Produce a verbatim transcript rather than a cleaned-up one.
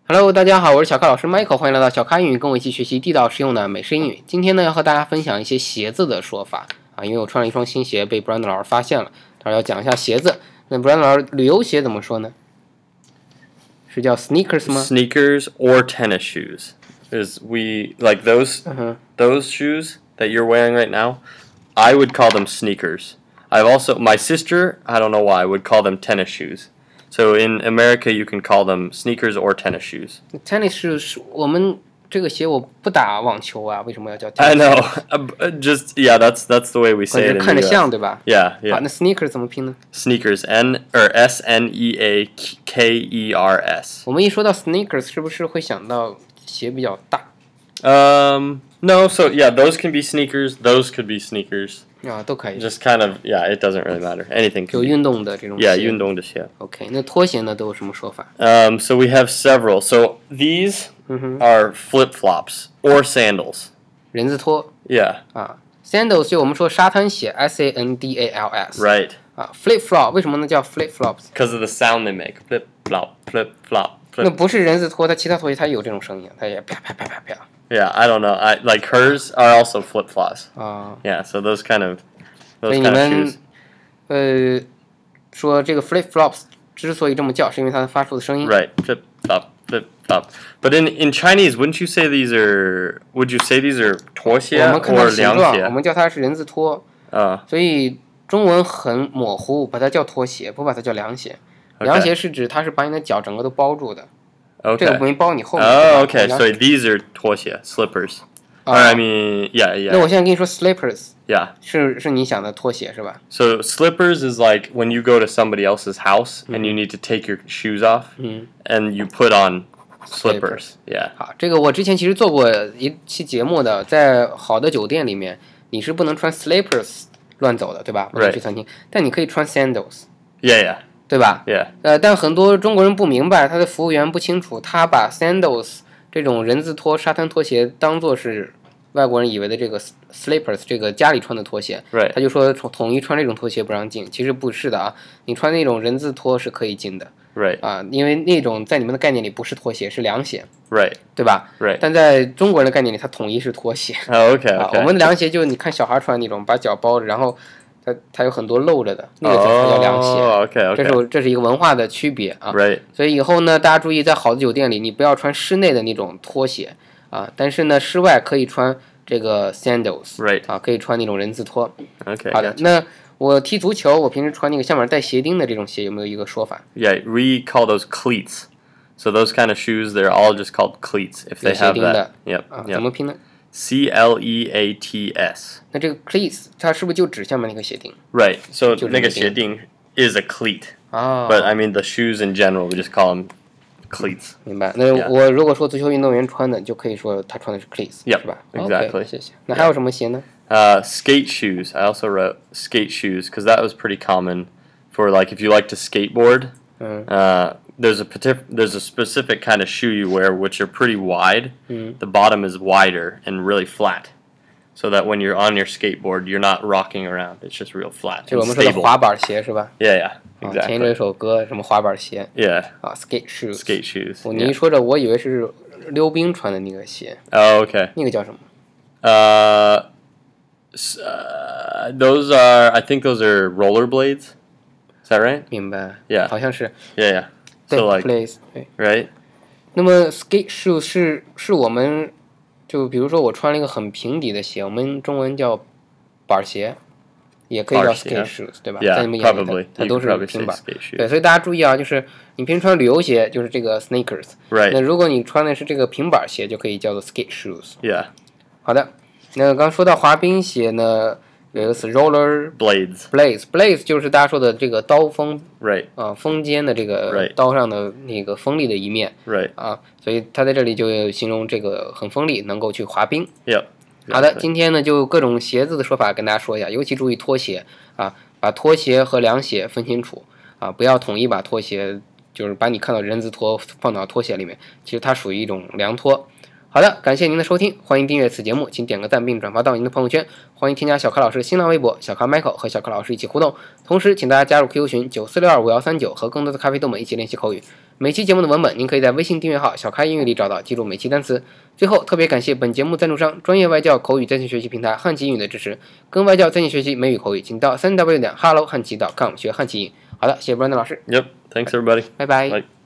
Hello， 大家好，我是小咖老师 Michael， 欢迎来到小咖英语，跟我一起学习地道实用的美式英语。今天呢，要和大家分享一些鞋子的说法啊，因为我穿了一双新鞋，被 Brandon 老师发现了，他说要讲一下鞋子。那 Brandon 老师，旅游鞋怎么说呢？是叫 sneakers 吗 ？Sneakers or tennis shoes. Is we like those uh-huh. those shoes that you're wearing right now? I would call them sneakers. I've also my sister, I don't know why, would call them tennis shoes. So in America, you can call them sneakers or tennis shoes. Tennis shoes， 我们这个鞋我不打网球啊，为什么要叫 tennis I know. Just yeah, that's that's the way we say it in 看着 the 像 U S. 对吧？ Yeah, 好， yeah. 那 sneakers 怎么拼呢？ Sneakers, N or S N E A K E R S. 我们一说到 sneakers， 是不是会想到鞋比较大？ Um, no. So yeah, those can be sneakers. Those could be sneakers. 啊，都可以， Just kind of yeah, it doesn't really matter. Anything 就 can be. 运动的这种鞋。 Yeah, 运动的鞋。 OK， 那拖鞋呢都有什么说法？ Um, so we have several. So these are flip flops or sandals. 人字拖 Yeah. 啊 ，sandals 就我们说沙滩鞋 ，S A N D A L S。 Right. 啊 ，flip flop 为什么能叫 flip flops？ Because of the sound they make. Flip flop, flip flop, 那 flip. 不是人字拖，它其他拖鞋它有这种声音，它也啪啪啪啪啪 Yeah, I don't know. I like hers are also flip flops. 啊。 Yeah, so those kind of 所 those 以你 kind of 们 shoes. 呃说这个 flip flops 之所以这么叫，是因为它发出的声音。 Right. Flip flop, flip flop. But in in Chinese, wouldn't you say these are? Would you say these are 拖鞋我们看它 or 形状，我凉鞋？ 们叫它是人字拖， Uh, 所以中文很模糊，把它叫拖鞋，不把它叫凉鞋。 Okay. 凉鞋是指它是把你的脚整个都包住的，这个 okay. 没包你后面。 Oh, 对 okay. 吧 So these are 拖鞋 slippers. 啊 Or I mean, yeah, 那 yeah, 我现在跟你说 slippers yeah. 是是你想的拖鞋是吧？ So slippers is like when you go to somebody else's house and you need to take your shoes off 嗯， and you put on slippers. Yeah. 好，这个我之前其实做过一期节目的，在好的酒店里面，你是不能穿 slippers 乱走的，对吧？不能 Right. 去餐厅，但你可以穿 sandals， Yeah, yeah, 对吧？ yeah. 呃，但很多中国人不明白，他的服务员不清楚，他把 sandals 这种人字拖、沙滩拖鞋当做是外国人以为的这个 slippers 这个家里穿的拖鞋， Right. 他就说统统一穿这种拖鞋不让进，其实不是的啊，你穿那种人字拖是可以进的 Right. 啊，因为那种在你们的概念里不是拖鞋，是凉鞋， Right. 对吧？ Right. 但在中国人的概念里，它统一是拖鞋 Oh, okay, 啊。 okay. 我们的凉鞋就你看小孩穿那种，把脚包着，然后它它有很多露着的，那个才叫凉鞋。 Oh, okay, 这 okay. 是这是一个文化的区别啊。 Right. 所以以后呢，大家注意，在好的酒店里，你不要穿室内的那种拖鞋啊，但是呢，室外可以穿这个 sandals， Right. 啊，可以穿那种人字拖。 Okay. 好的， Gotcha. 那我踢足球，我平时穿那个下面带鞋钉的这种鞋，有没有一个说法？ Yeah, we call those cleats. So those kind of shoes, they're all just called cleats if they 有鞋 have 钉 that. 的 Yep. 啊，怎 Yep. 么拼呢？ C L E A T S. 那这个 cleats 它是不是就指下面那个鞋钉 Right. So 就是那个那个鞋钉 is a cleat. 啊？ But I mean the shoes in general, we just call them cleats. 明白。那 Yeah. 我如果说足球运动员穿的，就可以说他穿的是 cleats， Yep, 是吧 exactly. OK， 谢谢。那还有什么鞋呢？ Uh, skate shoes. I also wrote skate shoes because that was pretty common for like if you like to skateboard. 嗯 Uh, there's a partic- there's a specific kind of shoe you wear which are pretty wide. 嗯 The bottom is wider and really flat, so that when you're on your skateboard, you're not rocking around. It's just real flat 就是 and 我们说的 stable. 滑板鞋是吧？ Yeah, yeah, 啊，前一阵有 exactly. 首歌什么滑板鞋 Yeah, 啊，skate shoes。 skate shoes. 我你一 Yeah. 说这，我以为是溜冰穿的那个鞋， Oh, okay. 那个叫什么？ Uh, s- uh, those are I think those are rollerblades. Is that right? 明白 Yeah. 好像是 Yeah, yeah. 对 So like, place 对。 right? 那么 skate shoes 是是我们就比如说我穿了一个很平底的鞋，我们中文叫板鞋，也可以叫板鞋 skate shoes， 对吧？ Yeah, 在你们眼里 probably. 它它 You 都 could 是 probably 平 say 板。 skate shoes. 对，所以大家注意啊，就是你平时穿旅游鞋就是这个 sneakers， Right. 那如果你穿的是这个平板鞋，就可以叫做 skate shoes。 Yeah. 好的，那刚说到滑冰鞋呢，有一个词 roller Blades. blades blades 就是大家说的这个刀锋 Right. 啊，锋尖的这个 Right. 刀上的那个锋利的一面 Right. 啊，所以它在这里就形容这个很锋利，能够去滑冰。 Yep. 好的， Exactly. 今天呢就各种鞋子的说法跟大家说一下，尤其注意拖鞋啊，把拖鞋和凉鞋分清楚啊，不要统一把拖鞋就是把你看到人字拖放到拖鞋里面，其实它属于一种凉拖好的，感谢您的收听，欢迎订阅此节目，请点个赞并转发到您的朋友圈，欢迎添加小咖老师新浪微博小咖 Michael 和小咖老师一起互动，同时请大家加入 Q Q 群九四六二五幺三九，和更多的咖啡豆们一起练习口语。每期节目的文本您可以在微信订阅号小咖英语里找到，记住每期单词。最后特别感谢本节目赞助商专业外教口语在线学习平台汉奇英语的支持，跟外教在线学习美语口语，请到 三 w 点 hello 汉奇 .com 学汉奇英语。好的，谢谢 Brandon 老师。 Yep. Thanks everybody. 拜拜。 Bye.